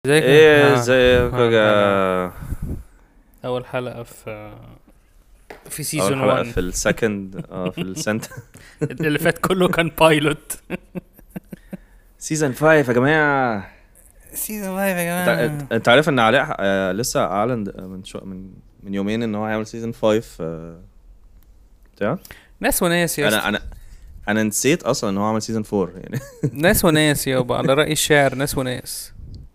ازيك ايه ازيك يا اول حلقة في اول سيزون حلقة 1. في السكند في السنت اللي فات كله كان بايلوت. سيزون 5 يا جماعة. سيزون 5 يا انت جماعة. انت عارف ان علاء لسه اعلن من يومين ان هو هيعمل سيزون 5 بتاع. ناس وناس يا انا اسطى. انا انا نسيت اصلا ان هو عمل سيزون 4 يعني. ناس وناس يابا، على رأي الشاعر ناس وناس.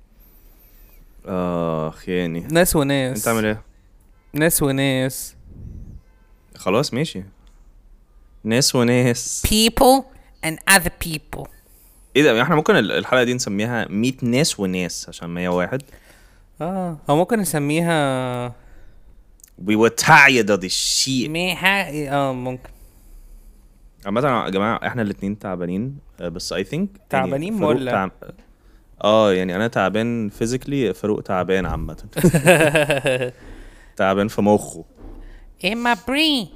يعني ناس انت عامل وناس. ايه؟ ناس وناس. خلاص ماشي. ناس وناس. People and other people. ايه ده؟ احنا ممكن الحلقة دي نسميها 100 ناس وناس عشان 101. او ممكن نسميها We were tired of this shit. ميحا. ممكن. عامة يا جماعة احنا الاتنين تعبانين، بس I think يعني تعبانين فاروق ولا؟ يعني انا تعبان physically، فاروق تعبان عامة. تعبان في مخه. In my brain.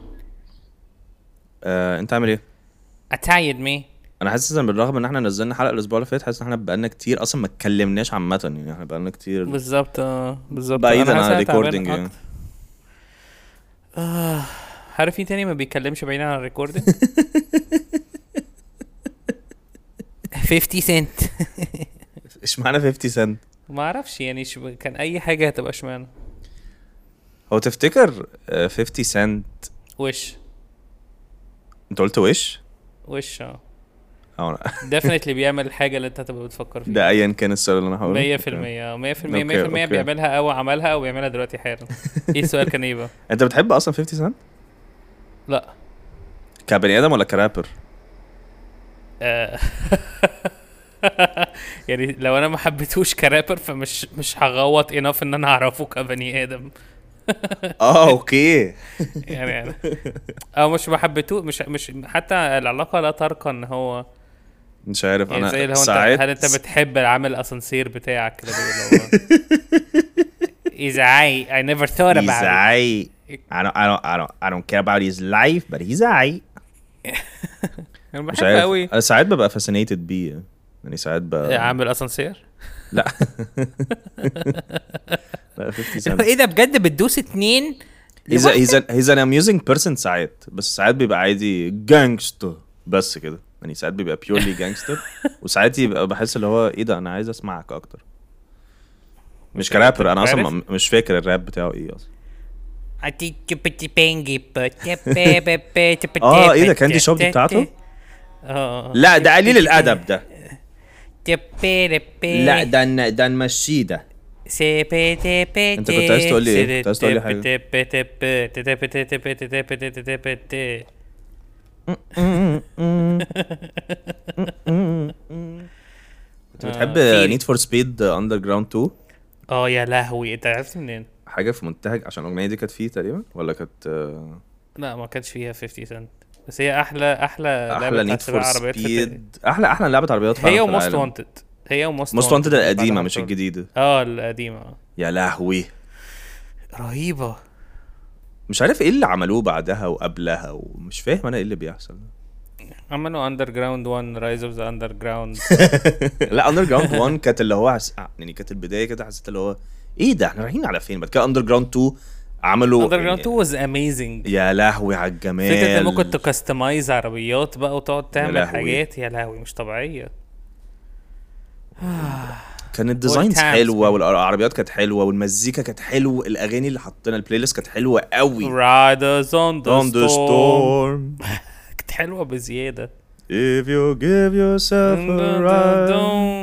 انت عامل ايه؟ I tired me. انا حاسس ان بالرغم ان احنا نزلنا حلقة الاسبوع اللي فات، حاسس ان احنا بقالنا كتير اصلا ما اتكلمناش عامة، يعني احنا بقالنا كتير بالظبط بالظبط. بعيدا انا حاسس عن إن أنا تعبان الريكوردينج يعني. أكتر. عارف مين تاني ما بيتكلمش بعيدا عن الريكوردينج؟ 50 سنت. اشمعنى 50 سنت؟ ما اعرفش يعني كان اي حاجه هتبقى اشمعنى. هو تفتكر 50 سنت؟ وش انت قلت وش؟ وش اه ديفنتلي بيعمل الحاجه اللي انت هتبقى بتفكر فيها. ده ايا كان السؤال اللي انا هقوله. 100% 100% اوكي 100% اوكي. بيعملها او عملها او بيعملها دلوقتي حالا. ايه السؤال كان ايه بقى؟ انت بتحب اصلا 50 سنت لا. كبني ادم ولا كرابر؟ آه. يعني لو انا ما حبيتهوش كرابر فمش هغوط انف ان انا اعرفه كبني ادم. اوكي. يعني او مش حبيتوه، مش حتى العلاقه لا ترقى ان هو مش عارف يعني زي انا اللي هو انت، ساعات هل انت بتحب العامل الاسانسير بتاعك كده اللي هو إذا I never thought he's about it. I don't care about his life but he's I. انا مش بحب عارف، قوي انا ساعات ببقى fascinated بيه، يعني ساعات عامل اسانسير. لا. لا 50 سنت ايه ده بجد بتدوس اتنين he's an amusing person ساعات، بس ساعات بيبقى عادي جانجستر بس كده، يعني ساعات بيبقى purely gangster وساعات يبقى بحس اللي هو ايه ده، انا عايز اسمعك اكتر. مش كرابر، انا اصلا مش فاكر الراب بتاعه ايه اصلا. ايه ده كاندي شوب دي بتاعته؟ لا ده قليل الادب ده. لا ده نمشيه ده. انت كنت عايز تقول لي ايه؟ كنت عايز تقول لي حاجه. انت بتحب نيد فور سبيد اندر جراوند 2؟ يا لهوي، انت عرفت منين؟ حاجه في منتهج عشان الاغنيه دي كانت فيه تقريبا، ولا كانت لا ما كانش فيها 50 سنت، بس هي احلى لعبه نيد فور عربيات سبيد، احلى لعبه عربيات فعلا هي في وموست العالم. وانتد. هي موست وانتد القديمه مش الجديده. القديمه. يا لهوي رهيبه. مش عارف ايه اللي عملوه بعدها وقبلها، ومش فاهم انا ايه اللي بيحصل. عملوا اندر جراوند 1 رايز اوف ذا اندر جراوند. لا اندر جراوند 1 كانت اللي هو يعني كانت البدايه كده، حسيت اللي هو ايه ده احنا رايحين على فين. بعد كده اندر جراوند 2 عملوا اندر جراوند 2 واز اميزنج. يا لهوي على الجمال. فكره ان ممكن تكستمايز عربيات بقى وتقعد تعمل لهوي. حاجات يا لهوي مش طبيعيه. كان الديزاينز حلوه والعربيات كانت حلوه والمزيكا كانت حلوه، الاغاني اللي حطينا البلاي ليست كانت حلوه قوي. Riders on the storm. storm كانت حلوه بزياده. if you give yourself a ride.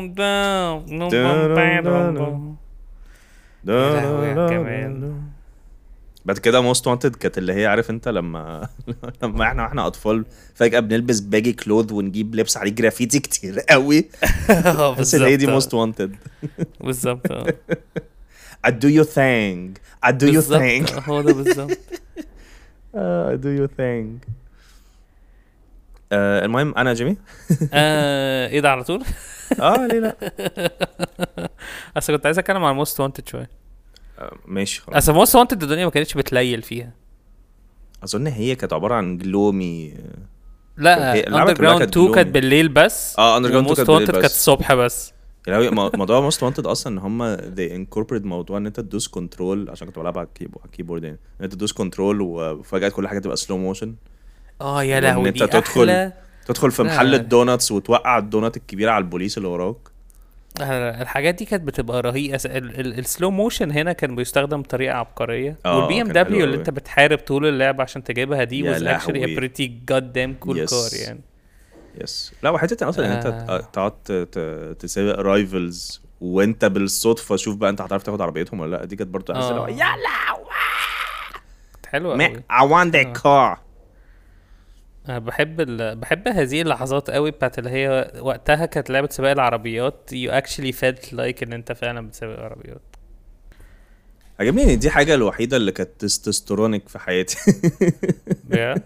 يا لهوي يا كمان. بعد كده موست وانتد كانت اللي هي عارف انت لما احنا اطفال فجأة بنلبس باجي كلوث ونجيب لبس عليه جرافيتي كتير قوي. بس اللي هي دي موست وانتد. بالظبط. I do your thing. I do your thing. هو ده بالظبط. I do your thing. المهم انا جيمي. ايه ده على طول؟ ليه لا. اصل كنت عايز اتكلم عن موست وانتد شويه. ماشي خلاص. اصل موست وانتد الدنيا ما كانتش بتليل فيها. اظن هي كانت عباره عن جلومي. لا اندر جراوند 2 كانت بالليل بس. اندر جراوند 2 كانت بالليل بس. كانت الصبح بس. يعني موضوع موست وانتد اصلا ان هم they incorporate موضوع ان انت تدوس كنترول، عشان كنت بلعب على الكيبورد يعني، ان انت تدوس كنترول وفجأة كل حاجه تبقى سلو موشن، يا وان لهوي انت دي احلى. تدخل في محل لا، الدوناتس وتوقع الدونات الكبيره على البوليس اللي وراك. الحاجات دي كانت بتبقى رهيبه. السلو موشن هنا كان بيستخدم بطريقه عبقريه، والبي ام كان حلو دبليو اللي قوي. انت بتحارب طول اللعبه عشان تجيبها دي يا was actually a لهوي. pretty goddamn cool Yes. car يعني. يس، لا وحته اصلا ان انت تقعد تسابق رايفلز وانت بالصدفه شوف بقى انت هتعرف تاخد عربيتهم ولا لا، دي كانت برضه احس يلا حلوه قوي. I want that car. أنا بحب هذه اللحظات قوي بتاعت اللي هي وقتها كانت لعبة سباق العربيات. you actually felt like ان انت فعلا بتسابق عربيات. عجبني ان دي حاجه الوحيده اللي كانت تستوستيرونيك في حياتي. Yeah.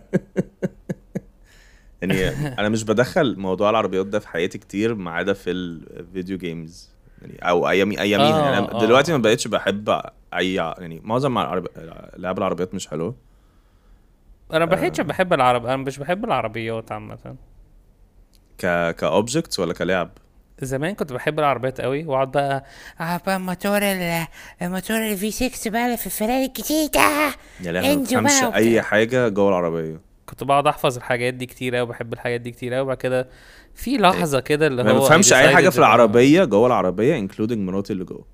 يعني انا مش بدخل موضوع العربيات ده في حياتي كتير ما عدا في الفيديو جيمز يعني، او اياميها يعني. انا دلوقتي ما بقتش بحب اي يعني معظم لعب العربيات مش حلوه. انا انا مش بحب العربيات عامة. كاوبجكتس ولا كلعب؟ زمان كنت بحب العربيات قوي، واقعد بقى الموتور الفي 6 بقى في الفراري الجديدة. يا لهوي ما بفهمش اي حاجه جوه العربيه. كنت بقعد احفظ الحاجات دي كتير قوي، بحب الحاجات دي كتير قوي. وبعد كده في لحظة كده اللي ما هو بفهمش اي حاجه في العربيه جوه العربيه including مراتي اللي جوه.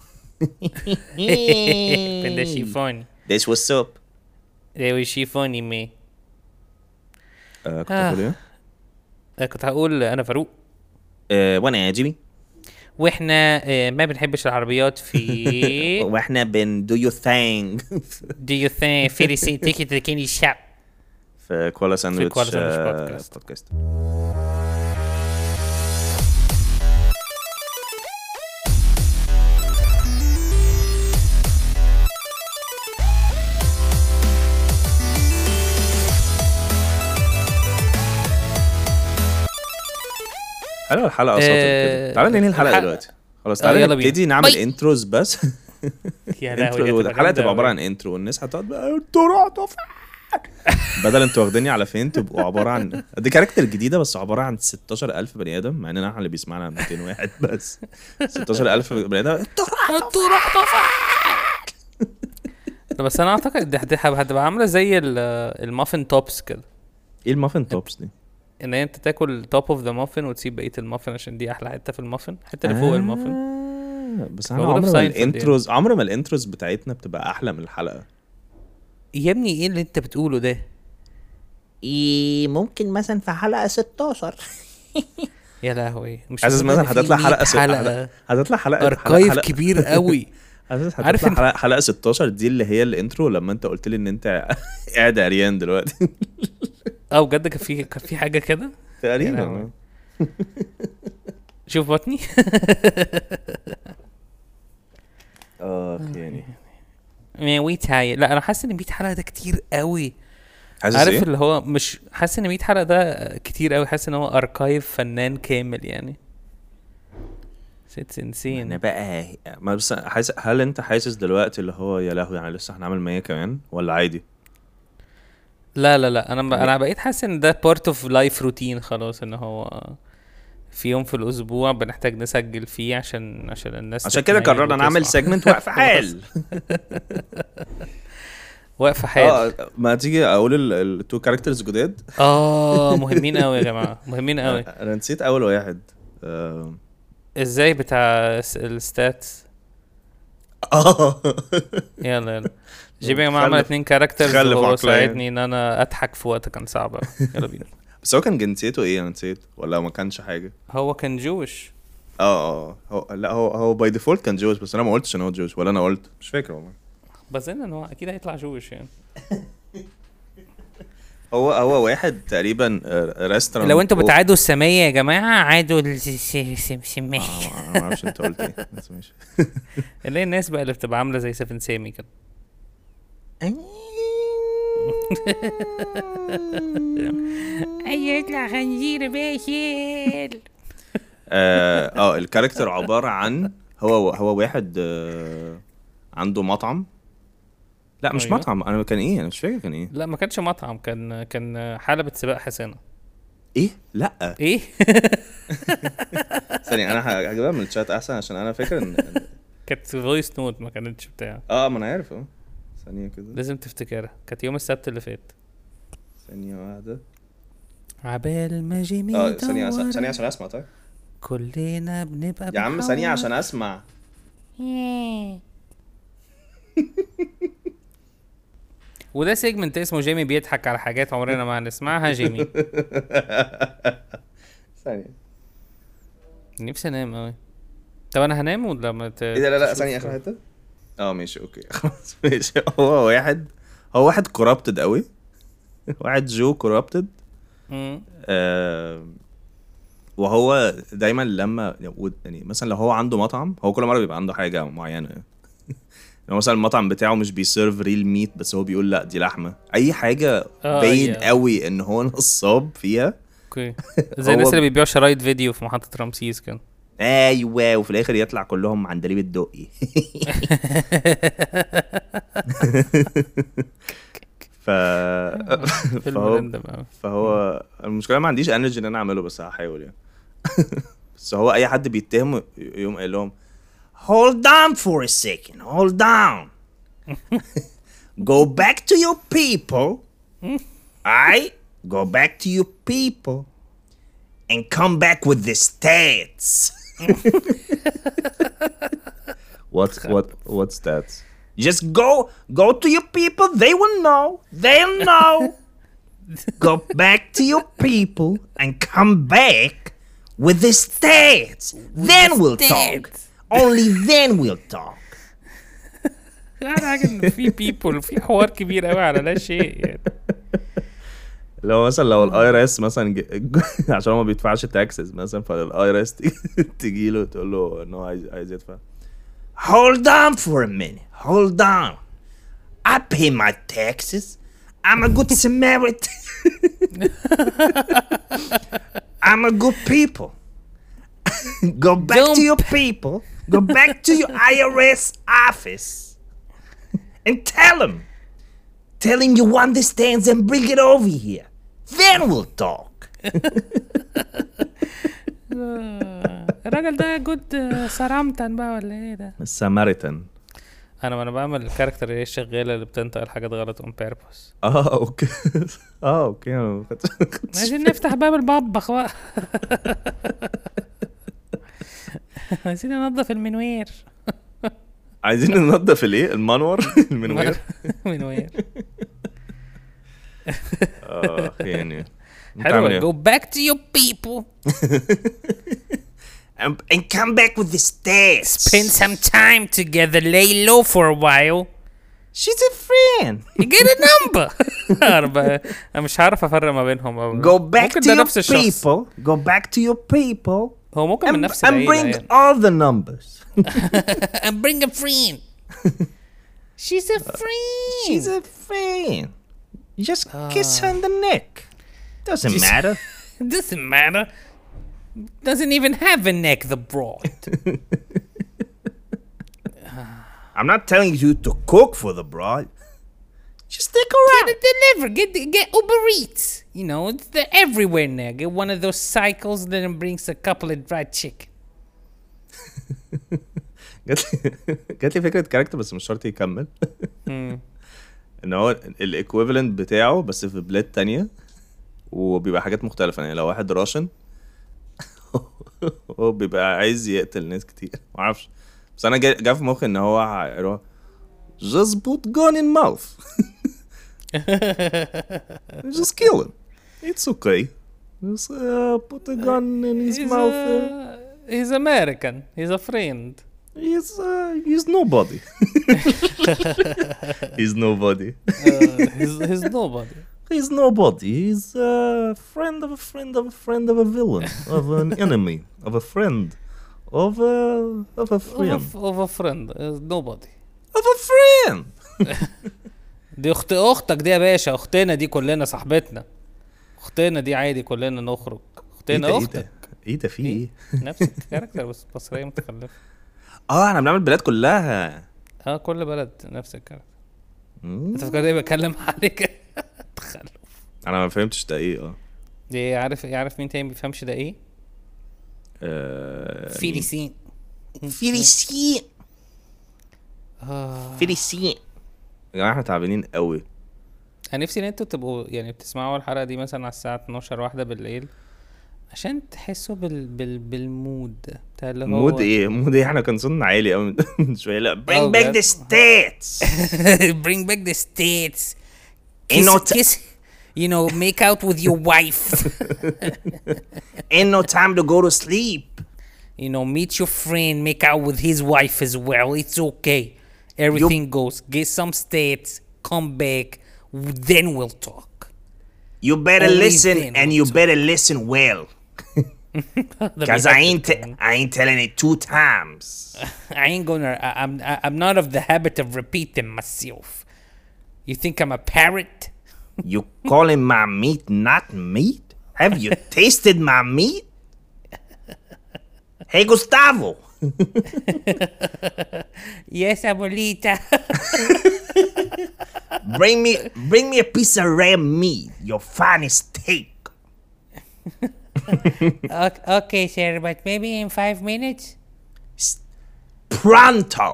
ده شيفوني. This was up. ده شيفوني مي. كنت هقول ايه؟ كنت هقول انا فاروق. وانا يا جيمي. واحنا ما بنحبش العربيات في واحنا do you think do you think في تيكت لكيني الشعب في كوالا ساندويتش بودكاست. حلوه الحلقه اصلا كده. تعالى ننهي الحلقه دلوقتي خلاص. تعالى نبتدي نعمل انتروز بس. يا لهوي الحلقه تبقى عباره عن انترو والناس هتقعد بقى انتوا رحتوا فين بدل انتوا واخديني على فين تبقوا عباره عن دي كاركتر جديده بس عباره عن 16,000 بني ادم، مع اننا احنا اللي بيسمعنا 200 واحد بس. 16,000 بني ادم انتوا رحتوا فين. بس انا اعتقد دي هتبقى عامله زي المافن توبس كده. ايه المافن توبس دي؟ ان انت تاكل توب اوف ذا مافن وتسيب بقيه المافن عشان دي احلى حته في المافن، الحته اللي فوق المافن. بس انا عمر ما الانتروز بتاعتنا بتبقى احلى من الحلقه. يا ابني ايه اللي انت بتقوله ده؟ ممكن مثلا في حلقه 16. يا لهوي مش عايز مثلا هتطلع حلقه اركايف كبير قوي. عارف حلقه 16 دي اللي هي الانترو لما انت قلت لي ان انت قاعد عريان دلوقتي. بجد كان في حاجه كده تقريبا. شوف بطني. يعني ويتاي. لا انا حاسس ان 100 حلقه ده كتير قوي. عارف إيه؟ اللي هو مش حاسس ان 100 حلقه ده كتير قوي، حاسس ان هو اركايف فنان كامل يعني. سيتس انسين. انا بقى ما بس حاسس، هل انت حاسس دلوقتي اللي هو يا لهوي يعني لسه هنعمل 100 كمان ولا عادي؟ لا انا بقيت حاسس ان ده بارت اوف لايف روتين خلاص، ان هو في يوم في الاسبوع بنحتاج نسجل فيه عشان الناس. عشان كده قررنا نعمل سيجمنت وقف حال. وقف حال. ما تيجي اقول التو كاركترز جداد. مهمين قوي يا جماعه، مهمين قوي. انا نسيت اول واحد. ازاي بتاع الستاتس. يلا جيبي يا جماعه عمل 2 كاركترز وهو ساعدني ان انا اضحك في وقت كان صعب. يلا بينا. بس هو كان جنسيته ايه؟ انا نسيت ولا ما كانش حاجه. هو كان جوش. هو باي ديفولت كان جوش، بس انا ما قلتش ان هو جوش ولا انا قلت مش فاكر والله. بس ان هو اكيد هيطلع جوش يعني. هو واحد تقريبا ريستورانت. لو انتوا بتعادوا السمية يا جماعه عادوا السمية. ما اعرفش انت قلت ايه بس ماشي. اللي الناس بقى اللي بتبقى عامله زي سيفن سامي كده. ايوه يطلع خنزير باشل. الكاركتر عباره عن هو واحد عنده مطعم. لا مش مطعم. انا كان ايه؟ انا مش فاكر كان ايه. لا ما كانش مطعم، كان حلبة سباق حسنة. ايه لا ايه ثانيه انا هجيبها من الشات احسن عشان انا فاكر ان كانت فويس نوت ما كانتش بتاع. ما انا عارف ثانيه كده لازم تفتكرها، كانت يوم السبت اللي فات. ثانيه واحده عبال ما جيمي ثانيه عشان اسمع. طيب كلنا بنبقى يا عم ثانيه عشان اسمع. وده سيجمنت اسمه جيمي بيضحك على حاجات عمرنا ما هنسمعها. جيمي ثانيه نفسي انام قوي. طب انا هنام ولا ما ايه ده؟ لا ثانيه اخر حته. ماشي اوكي خلاص ماشي. هو واحد كورابتد قوي. واحد جو كورابتد. وهو دايما لما يعني مثلا لو هو عنده مطعم، هو كل مره بيبقى عنده حاجه معينه. يعني مثلا المطعم بتاعه مش بيسيرف ريل ميت، بس هو بيقول لا دي لحمه. اي حاجه باين قوي ان هو نصاب فيها. اوكي زي الناس اللي بيبيعوا شرايط فيديو في محطه رمسيس كده. ايوه وفي الاخر يطلع كلهم عندليب الدقي. فهو المشكله ما عنديش انرجي ان انا اعمله، بس هحاول يعني. بس هو اي حد بيتهم يوم قال لهم hold on for a second, hold on. Go back to your people. Alright, go back to your people and come back with the stats. What stats? Just go to your people. They will know. They'll know. Go back to your people and come back with the stats. Then we'll talk. Only then we'll talk. يعني في people في حوار كبير قوي على لا شيء يعني. لو مثلا لو الاي ار اس مثلا عشان هو ما بيدفعش تاكسز مثلا، فالاي ار اس تيجي له تقول له انه عايز يدفع. Hold on for a minute. Hold on. I pay my taxes. I'm a good Samaritan. I'm a good people. Go back to your people. Go back to your IRS office and tell him you want the stands and bring it over here. Then we'll talk. الراجل ده جود سارامتن بقى ولا ايه ده؟ الساماريتان. انا بعمل الكاركتر اللي هي الشغاله اللي بتنطق الحاجات غلط اون بيربوس. اوكي اوكي عايزين نفتح باب المطبخ بقى. عايزين ننظف المنوير. عايزين ننظف الايه؟ المنور. المنوير. منوير. يعني حلو. Go back to your people. And come back with the stats. Spend some time together. Lay low for a while. She's a friend. You get a number. أنا مش عارف أفرق ما بينهم. Go back to your people. Go back to your people. هو ممكن من نفس العيلة. And bring all the numbers. And bring a friend. She's a friend. She's a friend. Just kiss her on the neck. Doesn't matter. Doesn't matter. Doesn't even have a neck, the broad. I'm not telling you to cook for the broad. Just stick around. Get it delivered. Get Uber Eats. You know, they're everywhere now. Get one of those cycles that brings a couple of dried chicken. جات لي فكرة كاركتر بس مش شرط يكمل. ان هو الايكويفالنت بتاعه بس في بلاد تانية وبيبقى حاجات مختلفة. يعني لو واحد راشن هو بيبقى عايز يقتل ناس كتير معرفش، بس انا جا في مخي ان هو just put gun in mouth. Just kill him. It's okay. Just put a gun in his mouth. He's American. He's a friend. He's nobody. He's nobody. He's nobody. He's nobody. He's a friend of a friend of a friend of a villain, of an enemy, of a friend, of a friend. Of a friend. Nobody. Of a friend. دي اختك دي يا باشا. اختنا دي كلنا صاحبتنا. اختنا دي عادي كلنا نخرج. اختنا اختك. ايه ده في ايه؟ نفس الكاركتر بس بصرية متخلفة. احنا بنعمل البلاد كلها. كل بلد نفس الكاركتر. انت فكرت ايه بكلم عليك؟ تخلف. انا ما فهمتش ده ايه. دي يعرف مين تاني ما بيفهمش ده ايه؟ فيليسين. فيليسين فيليسين. يا جماعه احنا تعبانين قوي. انا نفسي ان انتوا تبقوا يعني بتسمعوا الحلقه دي مثلا على الساعه 12 واحده بالليل عشان تحسوا بالمود بتاع اللي هو مود ايه احنا كان صوتنا عالي قوي من شويه. لا bring back the states. bring back the states. kiss you know, make out with your wife. Ain't no time to go to sleep. You know, meet your friend, make out with his wife as well. It's okay. Everything goes. Get some states, come back, then we'll talk. You better listen, and you better listen well. Because I ain't telling it 2 times. I ain't gonna. I'm not of the habit of repeating myself. You think I'm a parrot? You calling my meat not meat? Have you tasted my meat? Hey, Gustavo. Yes, abuelita. Bring me a piece of red meat, your finest steak. Okay, sir, but maybe in 5 minutes. Pronto.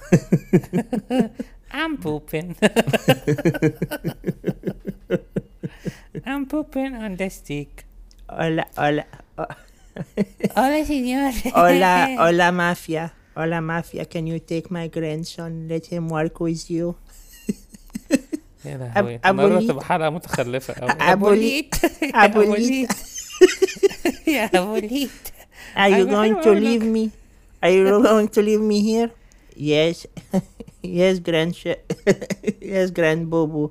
I'm pooping. I'm pooping on the stick. Hola. Hola, señor. Hola, mafia. Hola, mafia. Can you take my grandson? Let him work with you. يا لهوي مرة تبقى حلقة متخلفة أوي. أبوليت. يا أبوليت. Are you going to leave me? Are you going to leave me here? Yes. Yes, grand Bobo.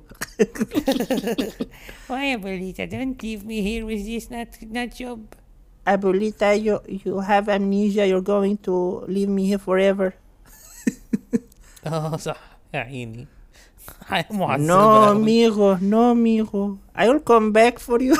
Why, Abuelita? Don't leave me here with this not job. Abuelita, you have amnesia. You're going to leave me here forever. صح يا عيني. No, mijo. I will come back for you.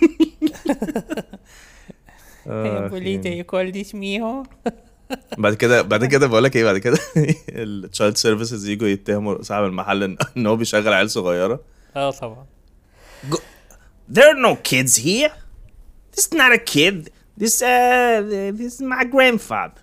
Hey, Abuelita, you call this mijo? بعد كده بقول لك ايه بعد كده التشايلد سيرفيسز يجوا يتهموا صاحب المحل ان هو بيشغل عيال صغيره. طبعا. There are no kids here. This is not a kid. This is my grandfather.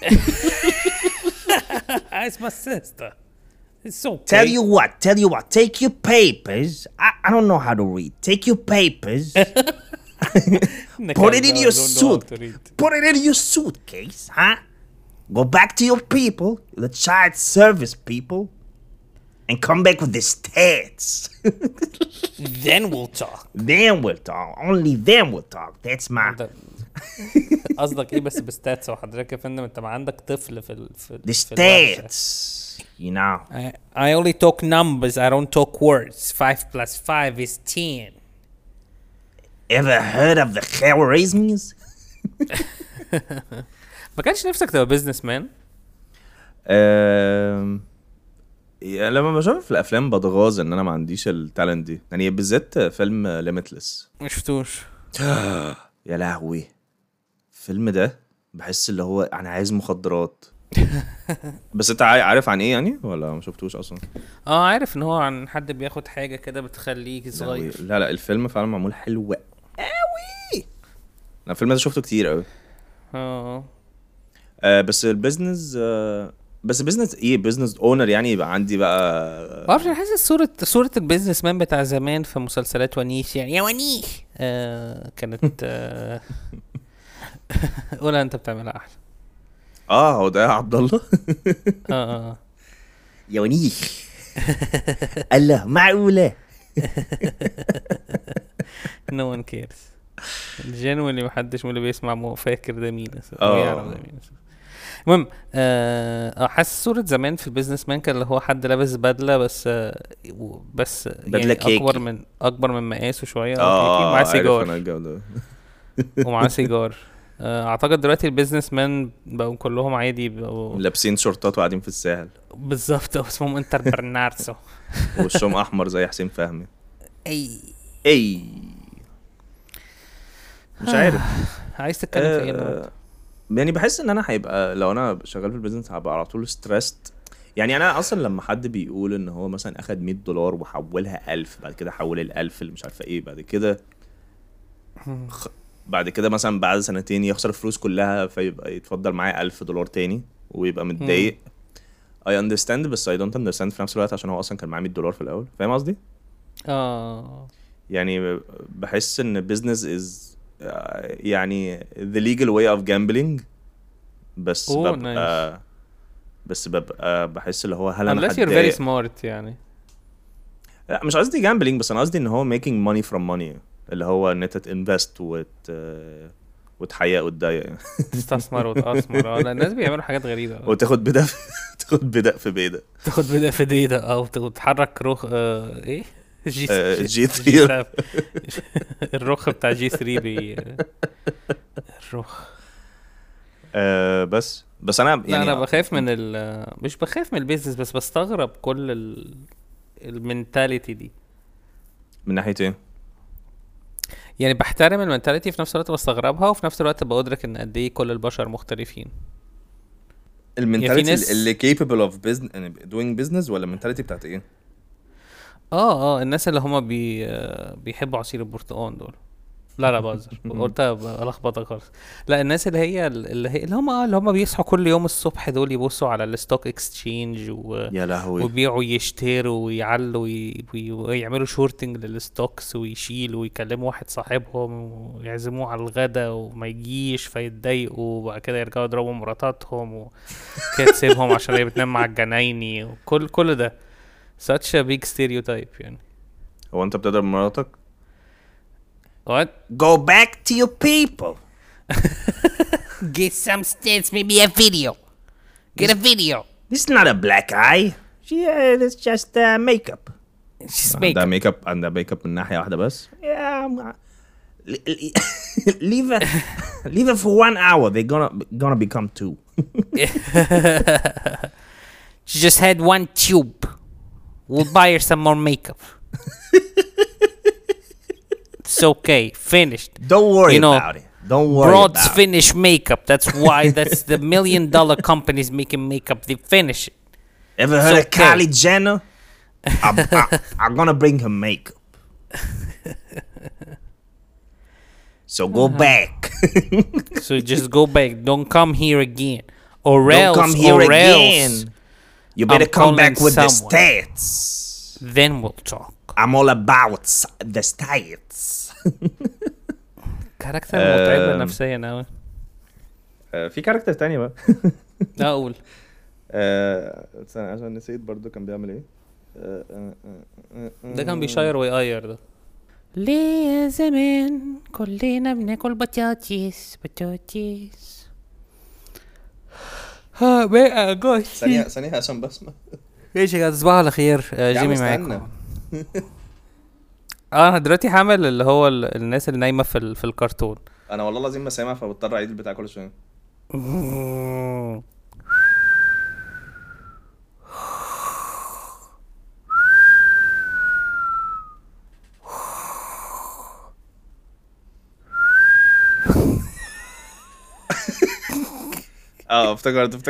It's my sister. It's okay. Tell you what. Take your papers. I don't know how to read. Take your papers. Put it in your suit. Put it in your suitcase, huh? Go back to your people, the child service people, and come back with the stats. Then we'll talk. Only then we'll talk. That's my... قصدك ايه بس بستاتس وحضرتك يا فندم انت ما عندك طفل في the stats, you know. I only talk numbers. I don't talk words. 5 + 5 is 10. Ever heard of the Khwarizmis? ما كانش نفسك تبقى بيزنس مان؟ لما بشوف في الافلام بتغاظ ان انا ما عنديش التالنت دي، يعني بالذات فيلم ليميتلس. ما شفتوش. يا لهوي الفيلم ده بحس اللي هو انا عايز مخدرات. بس انت عارف عن ايه يعني ولا ما شفتوش اصلا؟ عارف ان هو عن حد بياخد حاجه كده بتخليك صغير. لا الفيلم فعلا معمول حلو قوي. انا الفيلم ده شفته كتير قوي. بس البيزنس بس بيزنس ايه بيزنس اونر يعني يبقى عندي بقى ما اعرفش. حاسس صوره البيزنس مان بتاع زمان في مسلسلات ونيش يعني يا ونيش كانت قولها انت بتعملها احلى. هو ده عبد الله. يا ونيش. الله معقوله. no one cares. الجنوين اللي محدش من اللي بيسمع مو فاكر ده مين يعرف ده مين. المهم حاسس صورة زمان في البيزنس مان كان اللي هو حد لابس بدلة بس بدلة يعني اكبر من مقاسه شوية. معاه سيجار ومعاه سيجار. اعتقد دلوقتي البيزنس مان بقوا كلهم عادي بقوا لابسين شورتات وقاعدين في الساحل بالظبط. اسمهم انتر برناردسو وشهم احمر زي حسين فهمي. اي مش عارف عايز تتكلم في ايه النهارده؟ يعني بحس ان انا هيبقى لو انا شغال في البيزنس هبقى على طول ستريسد. يعني انا اصلا لما حد بيقول ان هو مثلا اخد $100 وحولها 1000 بعد كده حول ال1000 اللي مش عارفه ايه بعد كده بعد كده مثلا بعد سنتين يخسر الفلوس كلها فيبقى يتفضل معاه $1000 تاني ويبقى متضايق. I understand بس I don't understand في نفس الوقت عشان هو اصلا كان معاه $100 في الاول. فاهم قصدي؟ يعني بحس ان business is يعني the legal way of gambling. بس ببقى بحس اللي هو هل انا unless you're very smart يعني. لا مش قصدي gambling بس انا قصدي ان هو making money from money اللي هو ان انت تinvest وتحيق وتضايق تستثمر وتأثمر. لا الناس بيعملوا حاجات غريبة وتاخد بدأ تاخد بدأ في بيدة تاخد بدأ في ديدا او تتحرك روخ ايه جي 3 الرخ بتاع جي 3 الرخ. بس انا يعني انا بخاف من مش بخاف من البيزنس بس بستغرب كل المنتاليتي دي. من ناحية ايه؟ يعني بحترم المنتاليتي في نفس الوقت بستغربها وفي نفس الوقت بأدرك ان قد ايه كل البشر مختلفين. المنتاليتي اللي capable of business doing business ولا المنتاليتي بتاعت ايه؟ الناس اللي هما بيحبوا عصير البرتقال دول. لا بهزر قلت الخبطك خالص. لا الناس اللي هم بيصحوا كل يوم الصبح دول يبصوا على الستوك اكسشينج يا لهوي وبيعوا يشتروا ويعلوا ويعملوا شورتنج للستوكس ويشيلوا ويكلموا واحد صاحبهم ويعزموه على الغدا وما يجيش فيتضايقوا وبعد كده يرجعوا يضربوا مراتاتهم وكده تسيبهم عشان هي بتنام مع الجنايني وكل ده such a big stereotype يعني. هو انت بتضرب مراتك؟ What? Go back to your people. Get some stats, maybe a video. Get a video. This is not a black eye. It's just makeup. It's just makeup. عندها makeup من ناحية واحدة بس. Yeah. Leave it for 1 hour. They're gonna become 2. She just had 1 tube. We'll buy her some more makeup. It's okay. Finished. Don't worry about it. Don't worry Broads about finish makeup. That's why. That's the $1 million companies making makeup. They finish it. Ever heard of Kylie Jenner? I'm gonna bring her makeup. So go back. So just go back. Don't come here again. Or Don't else. come here or again. else You better I'm come back calling with someone. the stats. Then we'll talk. I'm all about the stats. كاركتر متعب نفسيا قوي. في كاركتر تاني بقى. اقول عشان نسيت برضو كان بيعمل ايه. ده كان بيشاير ويقير ده. ليه يا زمان كلنا بناكل بطاطس ها بقى جوش. ثانية عشان بسمع. ايش يا تصبحوا على خير. جيمي معاكم. انا دلوقتي حامل اللي هو الناس اللي نايمه في الكرتون. انا والله لازم ما سامع فبضطر اعيد البتاع كل شويه. افتكرت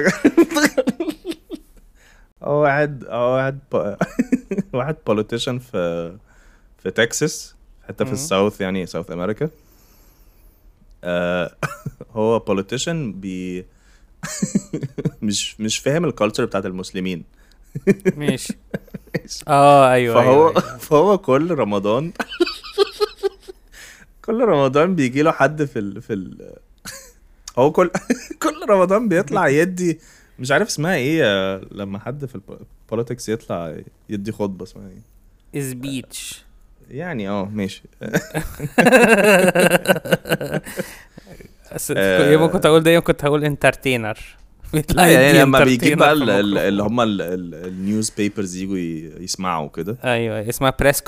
واحد politician في تكساس حتى في الساوث يعني ساوث امريكا. هو politician مش فاهم الكالتشر بتاعت المسلمين. ماشي. ايوه فهو كل رمضان بيجي له حد في هو كل رمضان بيطلع يدي مش عارف اسمها ايه لما حد في البوليتكس يطلع يدي خطبه اسمها ايه سبيتش يعني ماشي. يوم كنت اقول ده يوم كنت هقول انترتينر. يعني لما بيجي بقى اللي هم النيوز بيبرز يجوا يسمعوا كده. ايوه اسمها بريس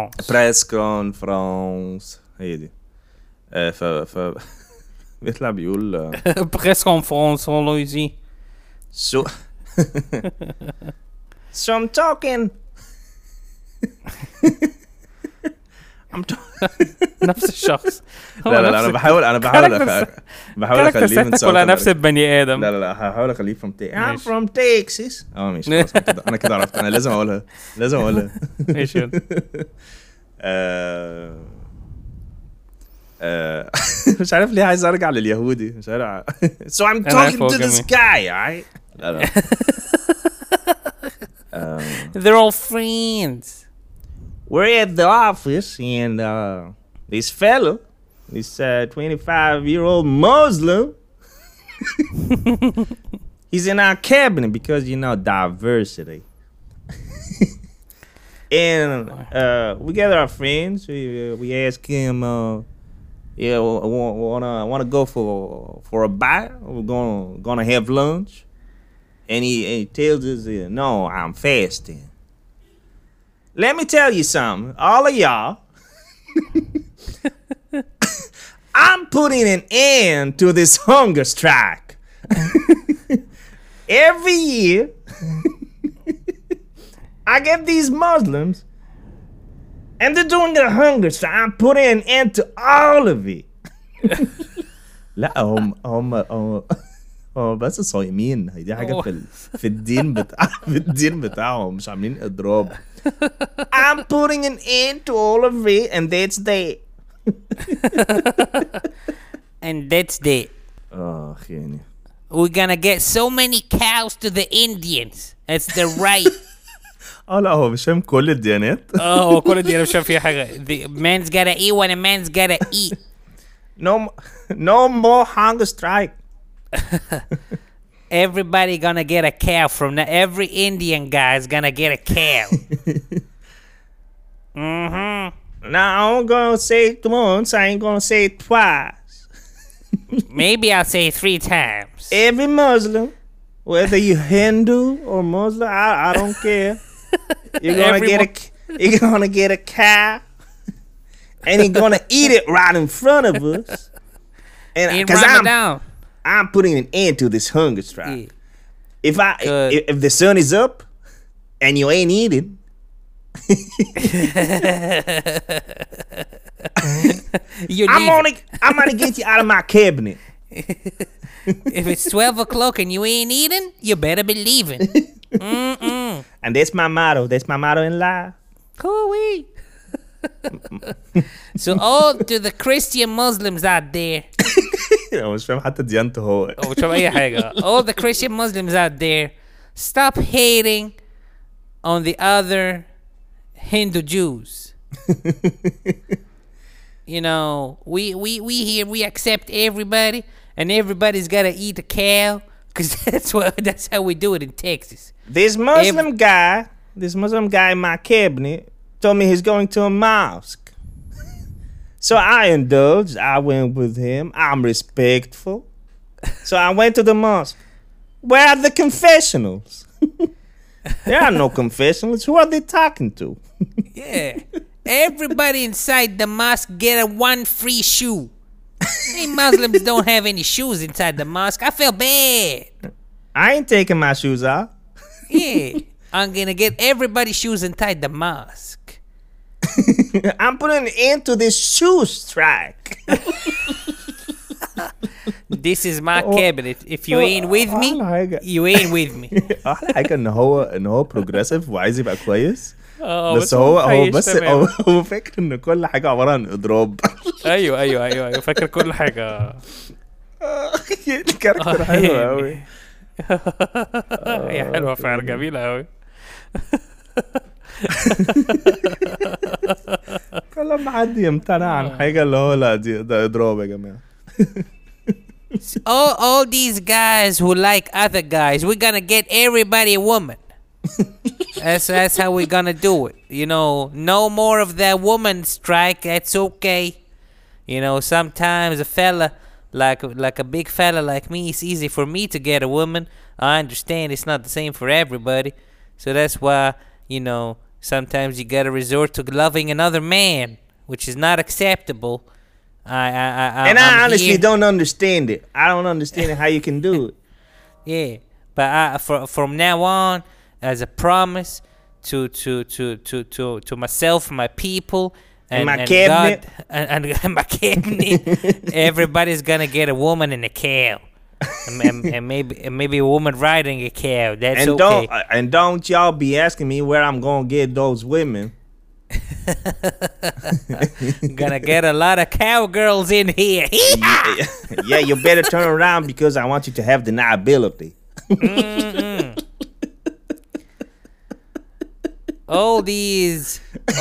كونفرنس هي دي. ف بيطلع بيقول بريس كونفرنس لويزي so I'm talking نفس الشخص. لا انا بحاول اخليه من كلها نفس البني ادم. لا هحاول اخليه I'm from Texas. ماشي انا كده عرفت. انا لازم اقولها ماشي. مش عارف ليه عايز ارجع لليهودي مش عارف. So I'm talking to this guy, alright? They're all friends. We're at the office and this fella, this 25-year-old Muslim, he's in our cabinet because, you know, diversity. And we gather our friends. We ask him, yeah, wanna go for a bite? We're gonna have lunch. And he tells us, no, I'm fasting. Let me tell you something, all of y'all. I'm putting an end to this hunger strike. Every year, I get these Muslims, and they're doing a hunger strike. I'm putting an end to all of it. لا هم بس صايمين. دي حاجة في الدين في الدين بتاعهم مش عاملين إضراب. I'm putting an end to all of it and that's that. And that's that. يعني. We're gonna get so many cows to the Indians. That's the right. لا هو مش فاهم كل الديانات. هو كل الديانات مش فاهم فيها حاجة. The man's gotta eat when a man's gotta eat. No more hunger strike. Everybody gonna get a cow from now. Every Indian guy is gonna get a cow. Now I'm gonna say it once. I ain't gonna say it twice. Maybe I'll say it 3 times. Every Muslim, whether you Hindu or Muslim, I don't care. You're gonna get a cow, and you're gonna eat it right in front of us. And because I'm putting an end to this hunger strike. Yeah. If the sun is up and you ain't eating, I'm gonna get you out of my cabinet. If it's 12 o'clock and you ain't eating, you better be leaving. And that's my motto. That's my motto in life. Cool. So all to the Christian Muslims out there. مش فاهم حتى ديانته هو. مش فاهم أي حاجة. All the Christian Muslims out there, stop hating on the other Hindu Jews. You know, we here, we accept everybody, and everybody's gotta eat a cow, cause that's how we do it in Texas. This Muslim guy in my cabinet told me he's going to a mosque. So I indulged. I went with him. I'm respectful. So I went to the mosque. Where are the confessionals? There are no confessionals. Who are they talking to? Yeah. Everybody inside the mosque get a 1 free shoe. Hey, Muslims don't have any shoes inside the mosque. I feel bad. I ain't taking my shoes off. Yeah. I'm gonna get everybody's shoes inside the mosque. I'm putting an end to this shoe strike. This is my cabinet. If you ain't with me, you ain't with me. أحلى حاجة إن هو progressive وعايز يبقى كويس. بس هو فاكر إن كل حاجة عبارة عن إضراب. أيوه فاكر كل حاجة. الكاركتر حلو أوي. هي حلوة فعلا جميلة أوي. كل ما حد يمتنع عن حاجة اللي هو لا ده إضراب يا جماعة. all these guys who like other guys, we're gonna get everybody a woman. That's how we're gonna do it. You know, no more of that woman strike. That's okay. You know, sometimes a fella like a big fella like me, it's easy for me to get a woman. I understand it's not the same for everybody. So that's why, you know, sometimes you gotta resort to loving another man, which is not acceptable. I honestly don't understand it. I don't understand how you can do it. Yeah, but from now on, as a promise to myself, my people, and my cabinet, God, and my cabinet, everybody's gonna get a woman and a cow, and maybe a woman riding a cow. That's okay. Don't y'all be asking me where I'm gonna get those women. Gonna get a lot of cowgirls in here. Yeah, you better turn around because I want you to have deniability. all these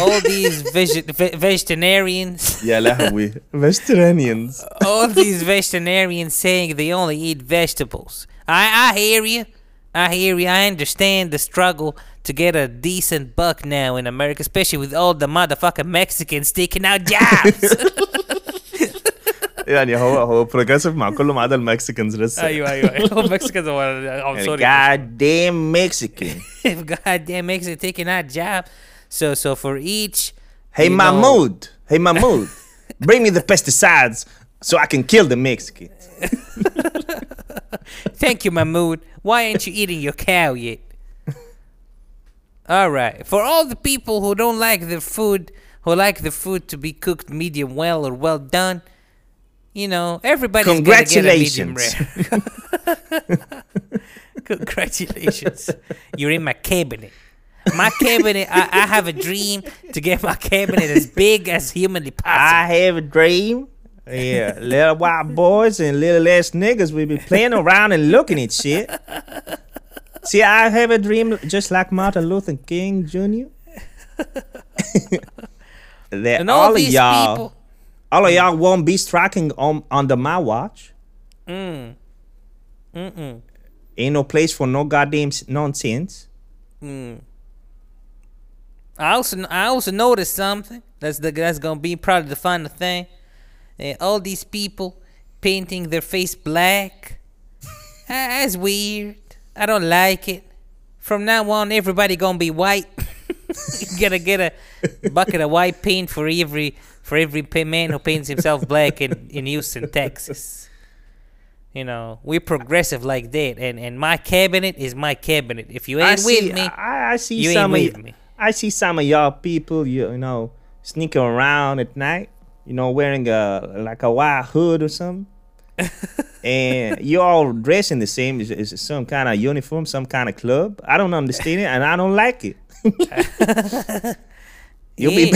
vegetarians. يا لهوي vegetarians. All these vegetarians saying they only eat vegetables. I hear you. I understand the struggle to get a decent buck now in America, especially with all the motherfucking Mexicans taking out jobs. يعني هو progressive مع كله ما عدا المكسيكانز لسه. ايوه هو Mexicans I'm يعني sorry. goddamn Mexican. Goddamn Mexican taking out job. So for each. Hey Mahmoud, bring me the pesticides so I can kill the Mexicans. Thank you, Mahmoud. Why aren't you eating your cow yet? All right. For all the people who don't like their food, who like the food to be cooked medium well or well done, you know, everybody's gonna get a medium rare. Congratulations. You're in my cabinet. My cabinet, I have a dream to get my cabinet as big as humanly possible. I have a dream. Yeah, little white boys and little ass niggas will be playing around and looking at shit. See, I have a dream just like Martin Luther King Jr. That And all these people. all of y'all won't be striking under my watch. Ain't no place for no goddamn nonsense. I also noticed something. That's gonna be probably the final thing. All these people painting their face black. That's weird. I don't like it. From now on, everybody gonna be white. You gotta get a bucket of white paint for every man who paints himself black in Houston, Texas. You know, we're progressive like that, and my cabinet is my cabinet. If you ain't with me, I see you some ain't of with me. I see some of y'all people, you know, sneaking around at night, you know, wearing like a white hood or something. And you all dressing the same as some kind of uniform, some kind of club. I don't understand it, and I don't like it. You'll be.